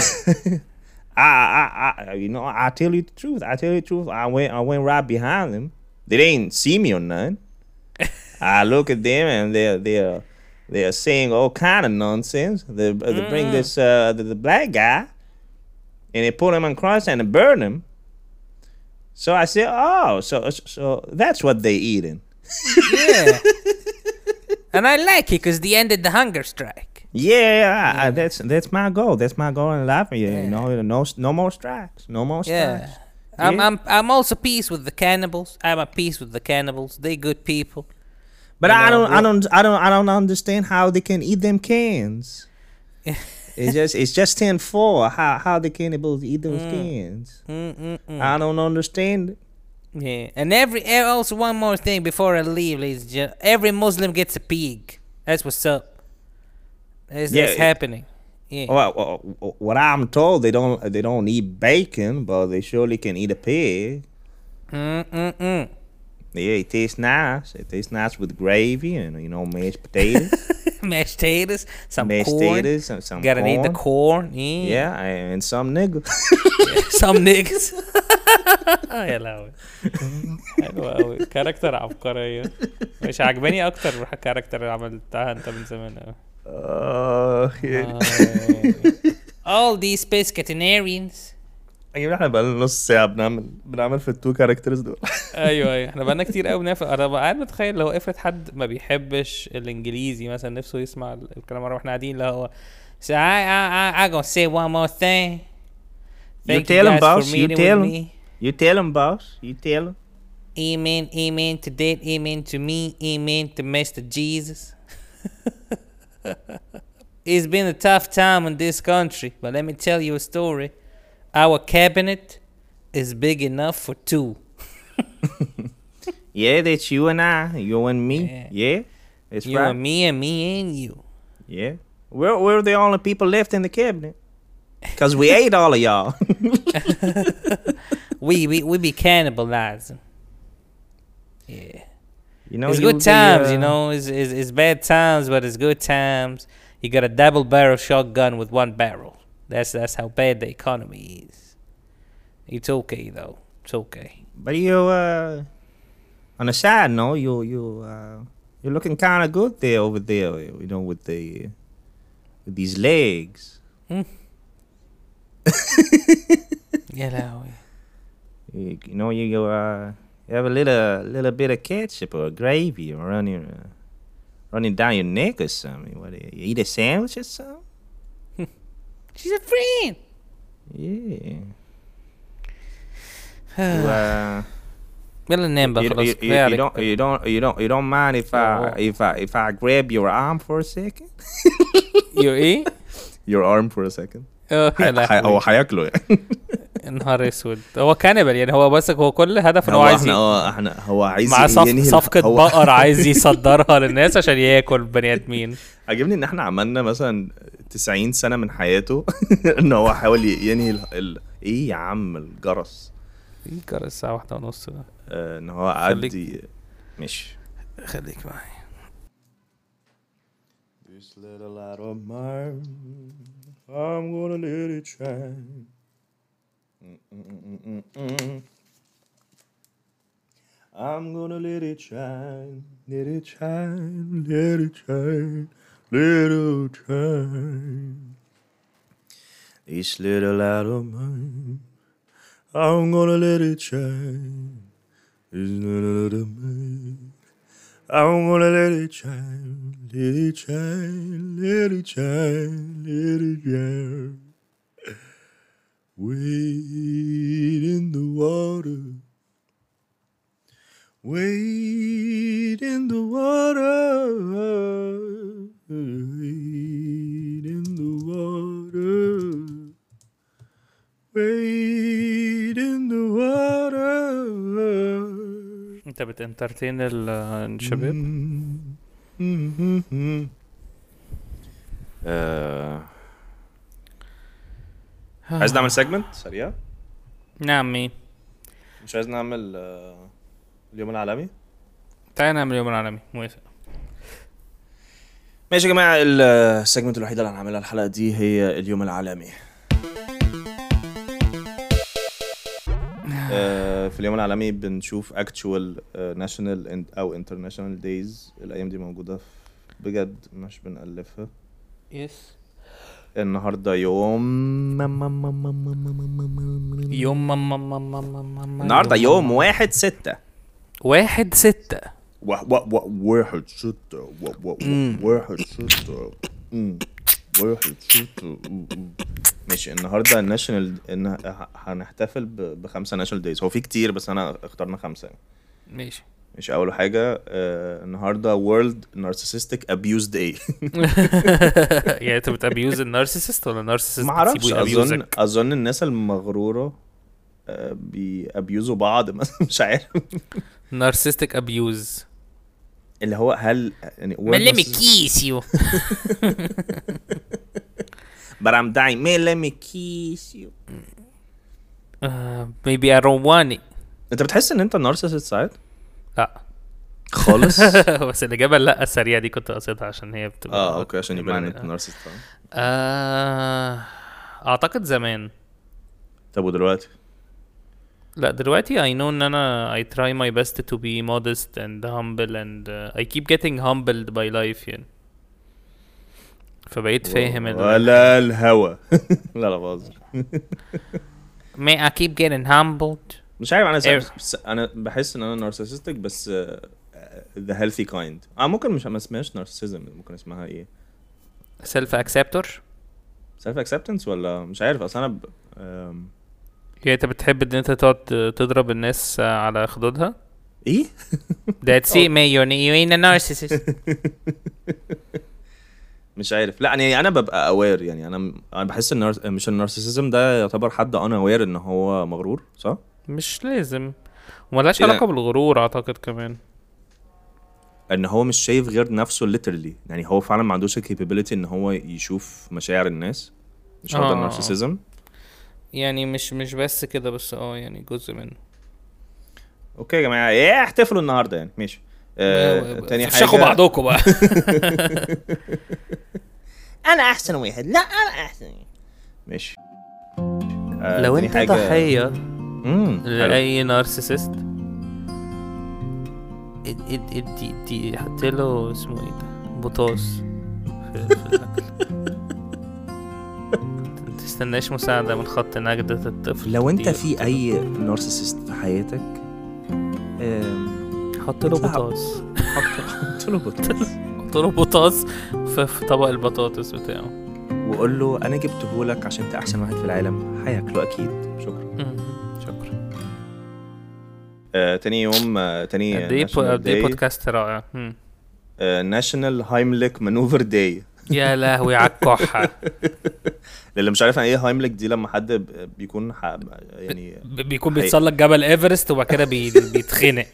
You know, I tell you the truth. I went right behind them. They didn't see me or nothing. I look at them and they're saying all kind of nonsense. They bring this the black guy, and they put him on cross and they burn him. So I said, oh, so that's what they eating. Yeah. And I like it because they ended the hunger strike. Yeah, that's my goal. That's my goal in life. You know, no more strikes. No more strikes. Yeah. I'm also peace with the cannibals. I'm at peace with the cannibals. They good people. But I don't understand how they can eat them cans. It's just 10-4. How the cannibals eat those cans? I don't understand it. Yeah, and also one more thing before I leave, ladies and gentlemen. Every Muslim gets a pig. That's what's up. That's happening. Yeah. Well, what I'm told, they don't eat bacon, but they surely can eat a pig. Yeah, it tastes nice. It tastes nice with gravy and, you know, mashed potatoes. Mashed potatoes, some mashed corn. Potatoes, some Gotta corn. need the corn. Yeah, and some niggas. Some niggas. يا لهوي حلوة أوي كاركتر عبقرية مش عجباني أكتر كاركتر عملتها أنت من زمان أوي. All these pescatarians. ايوه احنا بقالنا نص ساعة بنعمل في التو كاركترز دول. ايوه احنا بقالنا كتير قوي بنافق. انا قاعد متخيل لو افرض حد ما بيحبش الانجليزي مثلا نفسه يسمع الكلام مرة واحنا قاعدين اللي هو so I gonna say one more thing. You tell him, boss. You tell him, boss. You tell him. Amen to that. Amen to me. Amen to Master Jesus. It's been a tough time in this country, but let me tell you a story. Our cabinet is big enough for two. Yeah, that's you and I. You and me. Yeah, that's you right. And me and you. Yeah. We're the only people left in the cabinet. Because we ate all of y'all. we be cannibalizing. Yeah. You know, it's good times, you know. It's bad times, but it's good times. You got a double barrel shotgun with one barrel. That's how bad the economy is. It's okay though. It's okay. But you, on a side note, you're looking kind of good there over there. You know, with these legs. يا لهوي. You know, you have a little bit of ketchup or gravy running down your neck or something. What? You eat a sandwich or something? She's a friend. Yeah. يلا ننام بقى خلاص. You don't mind if I grab your arm for a second? Your ايه؟ Your arm for a second. هو هياكله يعني. نهار اسود. هو كانبل يعني. هو بس هو كل هدف ان هو عايز هو عايز مع صفقة بقر عايز يصدرها للناس عشان ياكل بني ادمين. عجبني ان احنا عملنا مثلا 90 سنة من حياته ان هو حاول ينهي ايه يا عم الجرس. ايه الجرس الساعة 1:30 ده. ان هو قعد ماشي. خليك معايا. This little light of mine, I'm gonna let it shine. I'm gonna let it shine, let it shine, let it shine, let it shine. This little light of mine, I'm gonna let it shine. This little light of mine, I'm gonna let it shine, let it shine, let it shine, let it shine. Wade in the water, wade in the water, wade in the water, wade in the water. انت بتنترتين الشباب؟ عايز نعمل سيجمنت سريع؟ نعم. مين؟ مش عايز نعمل اليوم العالمي؟ تعالى نعمل اليوم العالمي. موافق. ماشي يا جماعة. السيجمنت الوحيدة اللي هنعملها الحلقة دي هي اليوم العالمي. في اليوم العالمي بنشوف actual national أو international days. الأيام دي موجودة بجد مش بنألفها. يس. النهارده يوم النهارده يوم 1/6 1/6 ماشي. النهارده الناشونال هنحتفل ب5 ناشونال دايز. هو في كتير بس انا اخترنا 5. ماشي. مش اول حاجه النهارده وورلد نارسيسستيك ابيوز داي. يعني انت بتابيوز النارسيسست ولا النارسيسست ما اعرفش. اظن الناس المغروره بيابيوزوا بعض مثلا. مش عارف. نارسيستيك ابيوز اللي هو هل يعني let me kiss you but I'm dying let me kiss you maybe I don't want it. انت بتحس ان انت نارسيسست ساعات؟ لا خالص. بس الإجابة لا السريعة دي كنت قصدها عشان هي بتبقى اوكي عشان يبان ان انت نارسيست. اعتقد زمان. طب ودلوقتي؟ لا دلوقتي I know ان انا I try my best to be modest and humble and I keep getting humbled by life يعني. فبقيت فاهم ولا الهوا. لا بهزر. may I keep getting humbled. مش عارف انا بحس ان انا نارسيسستك بس the healthy kind. ممكن مش ما اسمهاش نارسيسزم. ممكن اسمها ايه؟ self acceptance ولا مش عارف. اصلا انا يعني انت بتحب ان انت تقعد تضرب الناس على خدودها؟ ايه؟ that's it man you ain't a narcissist. مش عارف. لا يعني انا ببقى اوير. يعني انا بحس ان مش النارسيسزم ده يعتبر حد انا اوير ان هو مغرور صح؟ مش لازم. وملاش علاقه بالغرور اعتقد كمان. ان هو مش شايف غير نفسه literally. يعني هو فعلا ما عندوش capability ان هو يشوف مشاعر الناس. مش هو ده النارسيسزم. يعني مش بس كده بس يعني جزء منه. اوكي يا جماعه احتفلوا النهارده يعني. ماشي. تاني حاجه شخوا بعضكم بقى. انا احسن واحد. لا انا احسن. ماشي. لو تاني انت حاجة- ضحية حلو. لأي نارسيسست، ادي حط له اسمه ايه ده، بوتاس في الأكل. متستناش مساعدة من خط نجدة الطفل. لو انت دي في اي نارسيسست في حياتك حط له اطلع- بوتاس، حط له بطاطس حط له بوتاس في طبق البطاطس بتاعه، وقول له انا جبته لك عشان انت احسن واحد في العالم، هياكله اكيد. شكرا. شكرا. تاني يوم تاني قد ايه بودكاست رائع. ناشونال هايمليك مانوفر داي. يا لهوي على الكحة. اللي مش عارف ايه هايمليك دي، لما حد بيكون يعني بيكون بيتسلق جبل ايفرست وبعد كده بيتخنق.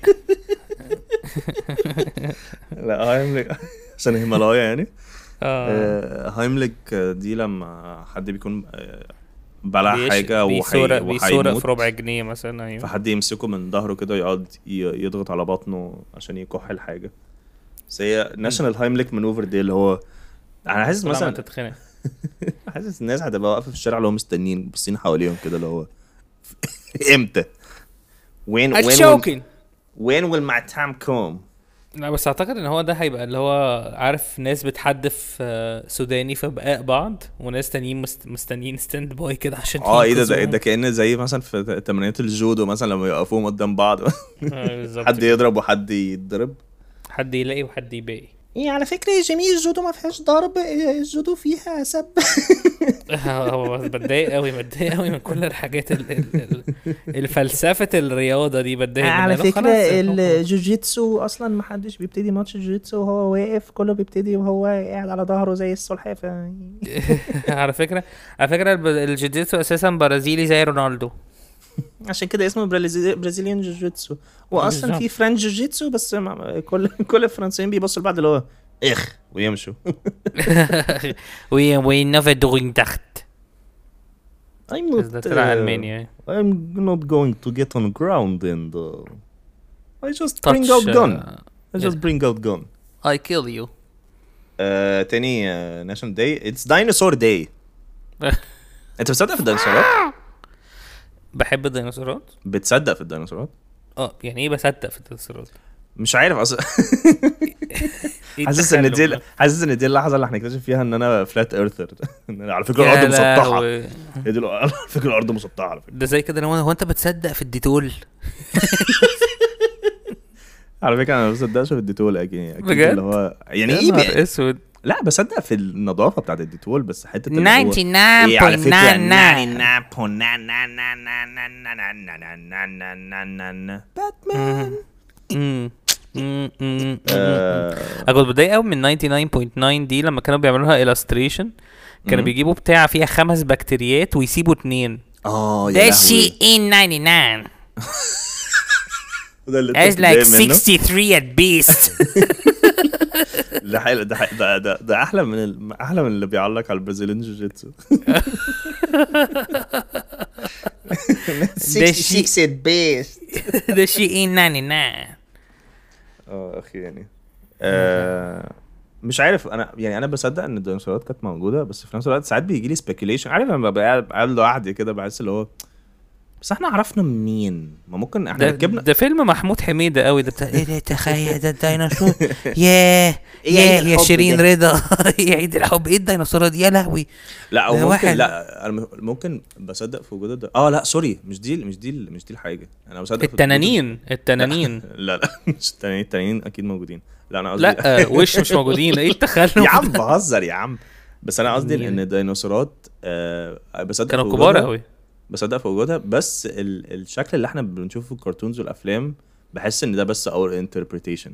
لا هايمليك عشان هيمالايا يعني. هايمليك دي لما حد بيكون بلع حاجة بيسورق وهيموت في ربع جنيه مثلا. ايوه. فحد يمسكه من ظهره كده يقعد يضغط على بطنه عشان يكح الحاجة. بس هي ناشونال هايمليك مانوفر دي اللي هو انا حاسس مثلا تتخنق. حاسس الناس هتبقى واقفه في الشارع اللي هم مستنيين باصين حواليهم كده اللي هو امتى وين will my time come. لا بس اعتقد ان هو ده هيبقى اللي هو عارف ناس بتحدف سوداني في بقاء بعض وناس تانيين مستنيين ستاند باي كده عشان ايه ده كأن زي مثلا في تمرينات الجودو مثلا لما يقفوهم قدام بعض. حد يضرب وحد يتضرب، حد يلاقي وحد يباقي. ايه على فكرة جميل الجودو ما فيهاش ضرب، الجودو فيها سب. هو بتضايق قوي من كل الحاجات الفلسفة الرياضة دي بتضايق. على فكرة الجوجيتسو اصلا ما حدش بيبتدي ماتش الجوجيتسو وهو واقف، كله بيبتدي وهو قاعد على ظهره زي السلحفاة. على فكرة الجوجيتسو اساسا برازيلي زي رونالدو، عشان كده اسمه برازيليان جوجيتسو. واصلا في فرنش جوجيتسو بس كل الفرنسيين بيبصوا لبعض اللي هو ويمشوا. we never doing that. I'm not going to get on ground and I just bring out gun. I kill you. تاني national day it's dinosaur day. انت بتصدق في الديناصورات؟ بحب الديناصورات. بتصدق في الديناصورات؟ يعني ايه بصدق في الديناصورات؟ مش عارف اصلا. حاسس ان دي اللحظه اللي هنكتشف فيها ان انا فلات ايرثر. على فكره الارض مسطحه. على فكره الارض مسطحه على فكره. ده زي كده هو انت بتصدق في الديتول؟ على فكره انا ما بصدقش في الديتول اكيد اللي هو يعني ايه اسود. لا بصدق في النظافه بتاعه الديتول بس حته 99.99 باتمان. اقول بتضايق قوي من 99.9 دي لما كانوا بيعملوها illustration كانوا بيجيبوا بتاع فيها 5 بكتيريات ويسيبوا 2. ده شيء in 99 It's like 63 at best. ده حلو. ده احلى من اللي بيعلق على البرازيليان جوجيتسو. 66 at best. ده شيء in 99. اخي يعني مش عارف انا بصدق ان الديناصورات كانت موجوده بس في نفس الوقت ساعات بيجي لي سبيكيوليشن. عارف لما ببقى قاعد لوحدي كده بحس اللي هو بس احنا عرفنا مين؟ ما ممكن احنا ركبنا ده فيلم محمود حميدة قوي ده بتاع ايه ده تخيل ده الديناصور. يا شيرين رضا. يعيد الحب ايه الديناصورات يا لهوي. لا او ممكن لا انا ممكن بصدق في وجود لا سوري مش دي الحاجه. انا بصدق التنانين لا مش التنانين اكيد موجودين. لا انا قصدي لا وش مش موجودين. ايه التخلف يا عم بهزر يا عم. بس انا قصدي ان الديناصورات بصدق كانوا كبار قوي. بصدق في وجودها بس الشكل اللي احنا بنشوفه في الكرتونز والافلام بحس ان ده بس our interpretation.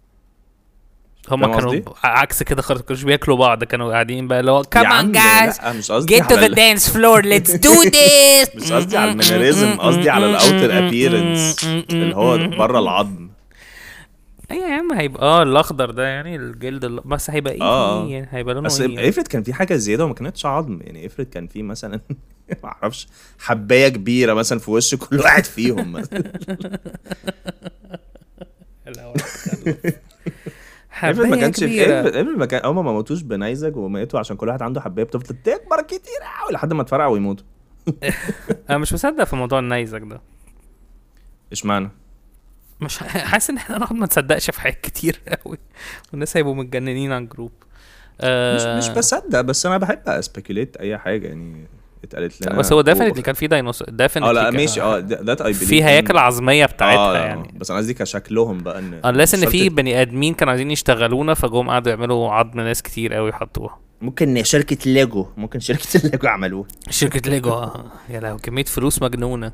هم كانوا عكس كده خالص. كانوا بياكلوا بعض. كانوا قاعدين بقى لو come on guys get to the dance floor let's do this. مش قصدي على المانيريزم قصدي على الاوتر ابييرنس اللي هو بره العظم. ايه يا عم هيبقى الاخضر ده يعني الجلد بس هيبقى يعني هيبقى لونه بس افرض كان في حاجه زياده وما كانتش عظم. يعني افرض كان في مثلا ما اعرفش حبايه كبيره مثلا في وش كل واحد فيهم مثلا. افرض ما كانش كبيرة. افرض ما كان هم ما موتوش بنيزك وماتوا عشان كل واحد عنده حبايه بتفضل تكبر كتير قوي لحد ما تفرقع ويموتوا. انا مش مصدق في موضوع النيزك ده. اشمعنى؟ مش حاسس ان احنا نقعد ما نصدقش في حاجات كتير قوي والناس هيبقوا متجننين على الجروب. مش بصدق، بس انا بحب اسبيكوليت اي حاجه يعني اتقالت لنا. بس هو ديفينتلي كان في ديناصور ديفينتلي. لا ماشي ذات اي بليف في هياكل عظميه بتاعتها يعني. بس انا قصدي كشكلهم بقى ان unless ان في بني ادمين كانوا عايزين يشتغلونا فجم قعدوا يعملوا عظم ناس كتير قوي يحطوها. ممكن شركه ليجو عملوه. شركه ليجو يا لهوي كميه فلوس مجنونه.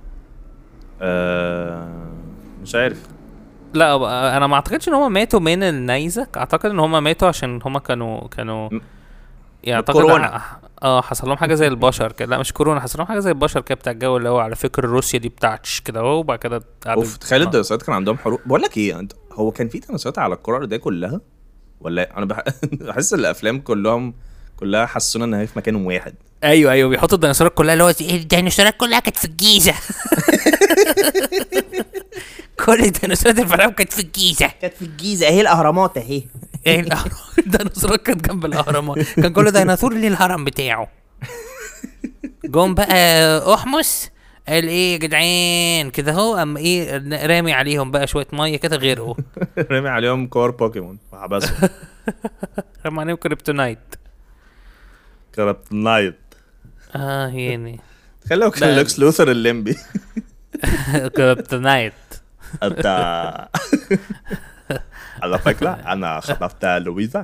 مش عارف. لا انا ما اعتقدش ان هم ماتوا من النيزك. اعتقد ان هم ماتوا عشان هم كانوا يعني اعتقد حصل لهم حاجه زي البشر كده. لا مش كورونا، حصل لهم حاجه زي البشر كده بتاع الجو اللي هو على فكره روسيا دي بتاعتش كده اهو. وبعد كده تخيل الديناصورات كان عندهم حروب. بقول لك ايه، هو كان في ديناصورات على الكره الارضيه كلها ولا انا بحس الافلام كلها حسونا ان هي في مكان واحد. ايوه بيحطوا الديناصورات كلها اللي هو الديناصورات كلها كانت في الجيزه. كل الديناصورات الفراعنه كانت في الجيزه. اهي الاهرامات اهي. ايه الديناصورات كانت جنب الاهرامات. كان كل ديناصور ليه الهرم بتاعه. جم بقى احمس قال ايه يا جدعان كده اهو. اما ايه رامي عليهم بقى شويه ميه كده غرقوا. رامي عليهم كور بوكيمون وحبسهم. رامي عليهم كريبتونايت. يعني تخيل لو كان لوكس لوثر الليمبي. كريبتونايت. انت على فكرة انا خطفت لويزا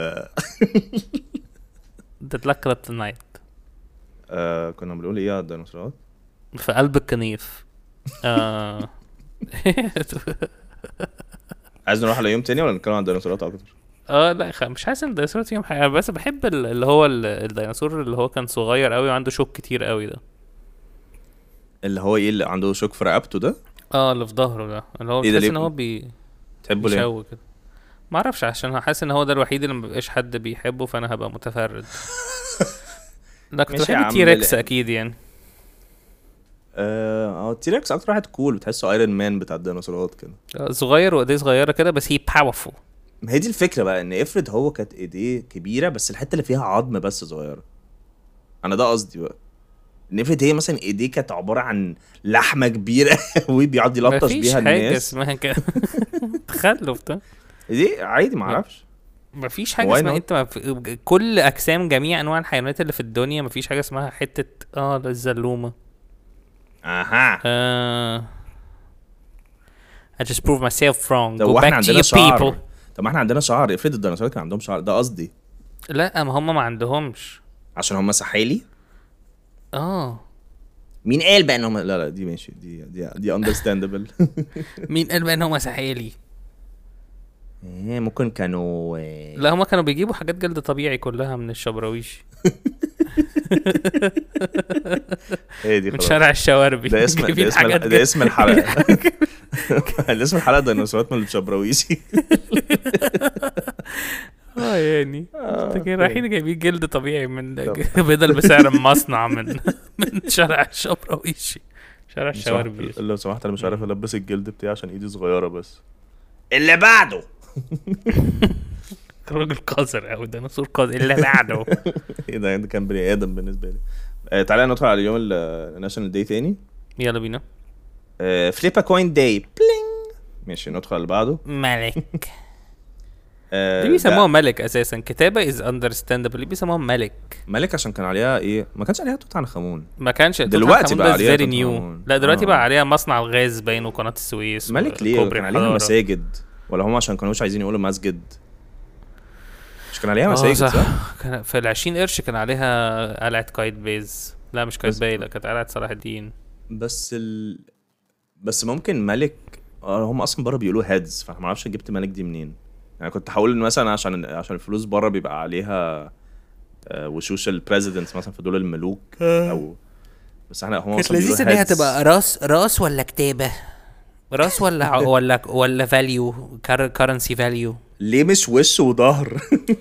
تطلع كريبتونايت. كنا بنقول ايه على الديناصورات في قلب الكنيف. عايز نروح على يوم تاني ولا نتكلم عن الديناصورات اكتر؟ لا مش حاسس ان الديناصورات فيهم حاجه. بس بحب اللي هو الديناصور اللي هو كان صغير قوي وعنده شوك كتير قوي ده. اللي هو ايه اللي عنده شوك في رقبته ده؟ اللي في ظهره ده اللي هو بتحس ان هو تحبه ليه؟ كده ما اعرفش. عشان حاسس ان هو ده الوحيد اللي مبقاش حد بيحبه فانا هبقى متفرد. لا كنت بحب تيركس اكيد يعني. تيركس اكتر واحد كول بتحسه ايرون مان بتاع الديناصورات كده. صغير وايديه صغيره كده بس هي باورفول. ما هي دي الفكره بقى، ان افرض هو كانت ايديه كبيره بس الحته اللي فيها عظم بس صغيره. انا ده قصدي بقى، ان افرض هي مثلا ايديه كانت عباره عن لحمه كبيره وبيقعد يلطش بيها الناس. مفيش حاجه اسمها كده. تخلف ده. دي عادي معرفش. مفيش حاجه اسمها انت كل اجسام جميع انواع الحيوانات اللي في الدنيا مفيش حاجه اسمها حته الزلومه. I just prove myself wrong. Go back to your people. طب ما احنا عندنا شعر. افرض الديناصورات كان عندهم شعر، ده قصدي. لا ما هم ما عندهمش عشان هم سحالي. مين قال بقى ان هم لا دي ماشي دي understandable. مين قال بقى ان هم سحالي؟ ممكن كانوا لا هم كانوا بيجيبوا حاجات جلد طبيعي كلها من الشبراويش. من شارع الشواربي. ده اسم الحلقه. اسم الحلقه ديناصورات من الشبراويشي. يعني كده رايحين جايبين جلد طبيعي من بدل بسعر مصنع من شارع الشبراويشي شارع الشواربي. لو سمحت انا مش عارف البس الجلد بتاعي عشان ايدي صغيره بس. اللي بعده راجل قذر او ديناصور قذر. اللي بعده ايه ده كان بني ادم بالنسبه لي. تعالى ندخل على اليوم الناشونال داي تاني. يلا بينا. فليبا كوين داي بلينج. ماشي ندخل اللي بعده. ملك. ليه بيسموها ملك اساسا؟ كتابه از اندرستاندبل. ليه بيسموها ملك عشان كان عليها ايه؟ ما كانش عليها توت عنخ امون. ما كانش دلوقتي بقى عليها توت عنخ امون. لا دلوقتي بقى عليها مصنع الغاز باين وقناه السويس. ملك ليه كان عليها مساجد؟ ولا هم عشان كانوش عايزين يقولوا مسجد؟ مش كان عليها مساجد صح؟ كان في 20 قرش كان عليها قلعه قايتباي. لا مش قايتباي، لا كانت قلعه صلاح الدين. بس ممكن ملك. هم اصلا بره بيقولوا هيدز، فانا ما اعرفش جبت ملك دي منين. يعني كنت هقول ان مثلا عشان الفلوس بره بيبقى عليها وشوش البريزيدنتس مثلا في دول الملوك او. بس احنا هم اصلا بيقولوا ان هي تبقى راس ولا كتابه، راس ولا فاليو كارنسي فاليو. ليه مش وش وظهر؟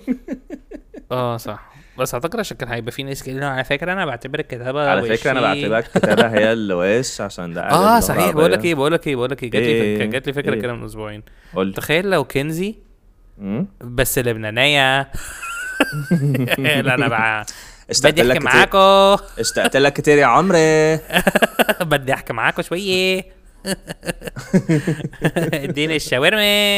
صح. بس اعتقد عشان كان هيبقى في ناس كده. على فكره انا بعتبر الكتابه على فكره انا بعتبر الكتابه هي الوش عشان ده صحيح. بقول لك ايه جات لي فكره كده من اسبوعين. تخيل لو كنزي بس لبنانية. لا انا بقى اشتقت بدي لك احكي كتير. معاكم. اشتقت لك كتير يا عمري. بدي احكي معاكم شوية. اديني الشاورما.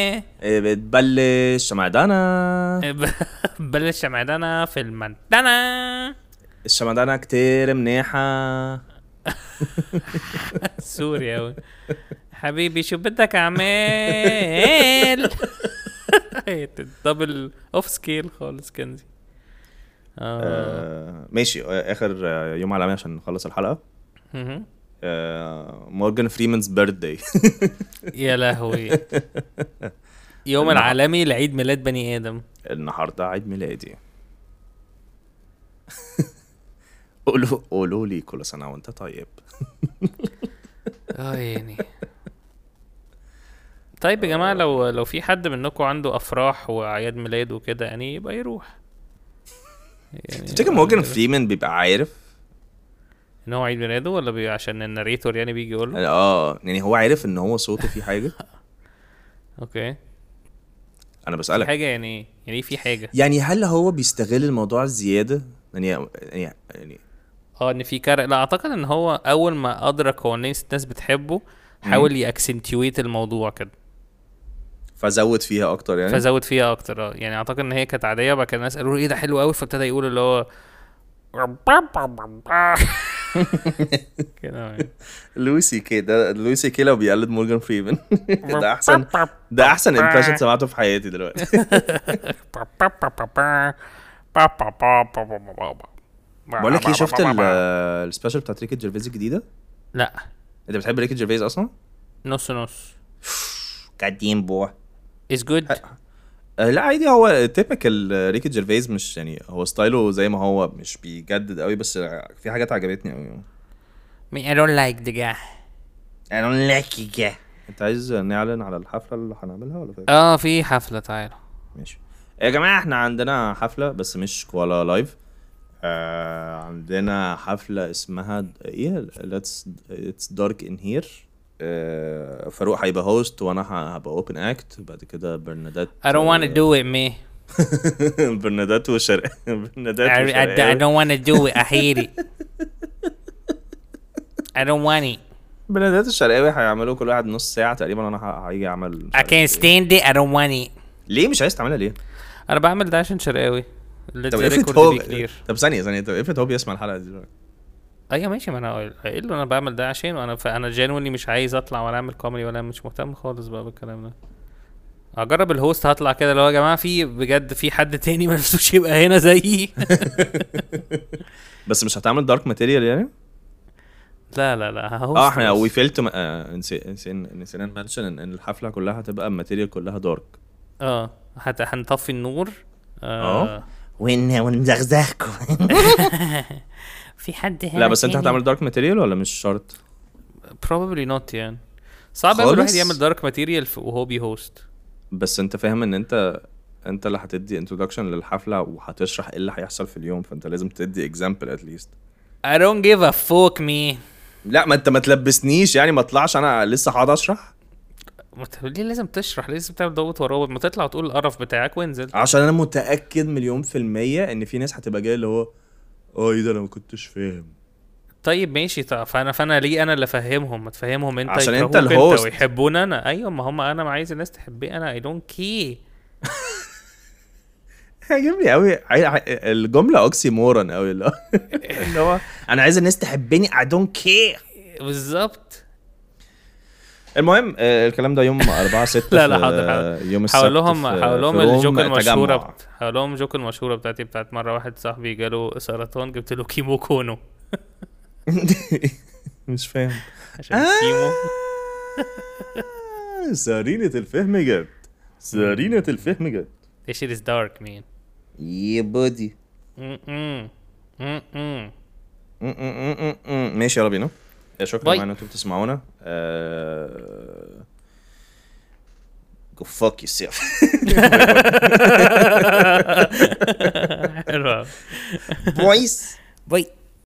بتبلش شمعدانة. بلش شمعدانة في المنتنة. الشمعدانة كتير منيحة. سوري اوي. حبيبي شو بدك اعمل؟ دبل اوف سكيل خالص كنزي. ماشي. اخر يوم عالمي عشان نخلص الحلقة. مورجان فريمانز بيرثداي. يا لهوي. يوم العالمي لعيد ميلاد بني ادم. النهارده عيد ميلادي. قولوا لي كل سنة وانت طيب. يعني طيب يا جماعة، لو في حد منكم عنده افراح واعياد ميلاد وكده يعني يبقى يروح. يعني تفتكر مورجان فريمان بيبقى عارف ان هو عيد ميلاده ولا عشان الناريتور يعني بيجي يقول له؟ يعني هو عارف ان هو صوته فيه حاجة. اوكي انا بسألك في حاجة يعني في حاجة يعني هل هو بيستغل الموضوع الزيادة يعني ان في لا اعتقد ان هو اول ما ادرك هو الناس بتحبه حاول يأكسنتويت الموضوع كده فزود فيها اكتر يعني اعتقد ان هي كانت عاديه بقى. كان الناس قالوا ايه ده حلو قوي فابتدى يقول اللي هو كده. لويسي كده لويسي كده لو بيقلد مورجان فريمان. ده احسن امبريشن سمعته في حياتي دلوقتي. بقول لك ايه، شفت السبيشال بتاعت ريكي جيرفيز الجديده؟ لا. انت بتحب ريكي جيرفيز اصلا؟ نص قديم بو is good. لا عادي، هو تيبيكال ريكي جيرفيز، مش يعني هو ستايله زي ما هو، مش بيجدد قوي، بس في حاجات عجبتني قوي. I don't like the guy. I don't like the guy. انت عايز نعلن على الحفله اللي هنعملها ولا في حفله؟ تعالوا. ماشي يا جماعه، احنا عندنا حفله بس مش كوالا لايف. عندنا حفله اسمها ايه، It's Dark in Here. فاروق هيبقى هوست وانا هبقى اوبن اكت. بعد كده برنادات I don't want to do it me. برنادات وشرق. I don't want to do it. I hate it. I don't want it. برنادات الشرقاوي هيعملوا كل واحد نص ساعه تقريبا، انا هيجي اعمل I can't stand it. I don't want it. ليه مش عايز تعملها ليه؟ انا بعمل ده عشان شرقاوي. طب ثانيه طب افرض هو بيسمع الحلقه دي دلوقتي. ايوه ماشي، ما انا قايل له انا بعمل ده عشان انا جينولي مش عايز اطلع ولا اعمل كوميدي ولا مش مهتم خالص بقى بالكلام ده. اجرب الهوست هطلع كده لو يا جماعه في بجد في حد تاني ما نفسوش يبقى هنا زيي. بس مش هتعمل دارك ماتيريال يعني؟ لا احنا وي فيلت نسينا نمنشن ان الحفله كلها هتبقى الماتيريال كلها دارك. هنطفي النور. ونزغزغكم. في حد هنا؟ لا بس انت هتعمل دارك ماتيريال ولا مش شرط؟ probably not يعني. صعب قوي الواحد يعمل دارك ماتيريال وهو بيهوست. بس انت فاهم ان انت اللي هتدي انترودكشن للحفله وهتشرح ايه اللي هيحصل في اليوم، فانت لازم تدي example at least. I don't give a fuck me. لا ما انت ما تلبسنيش يعني، ما اطلعش انا لسه هقعد اشرح. ليه لازم تشرح؟ لازم تعمل ضغط ورابط، ما تطلع وتقول القرف بتاعك وانزل. عشان انا متاكد 1,000,000% ان في ناس هتبقى جايه اللي هو ايه ده انا ما كنتش فاهم. طيب ماشي، فانا ليه انا اللي افهمهم؟ ما تفهمهم انت عشان انت الهوست ويحبون انا. ايوه ما هم انا ما عايز الناس تحبني انا. I don't care. عجبني قوي الجمله اوكسيمورون قوي اللي هو انا عايز الناس تحبني I don't care. بالظبط. المهم الكلام ده يوم 4/6. لا حاضر. يوم السبت. حاول لهم الجوك المشهوره حاول لهم الجوك المشهوره بتاعت مره واحد صاحبي جاله سرطان جبت له كيمو كونو. مش فاهم عشان كيمو. سرينة الفهم جد. سرينة الفهم جد. This shit is dark man. Yeah buddy. ماشي يلا بينا. شكرا معنا انتم بتسمعونا. Go fuck yourself. حلوة. Boys. Bye.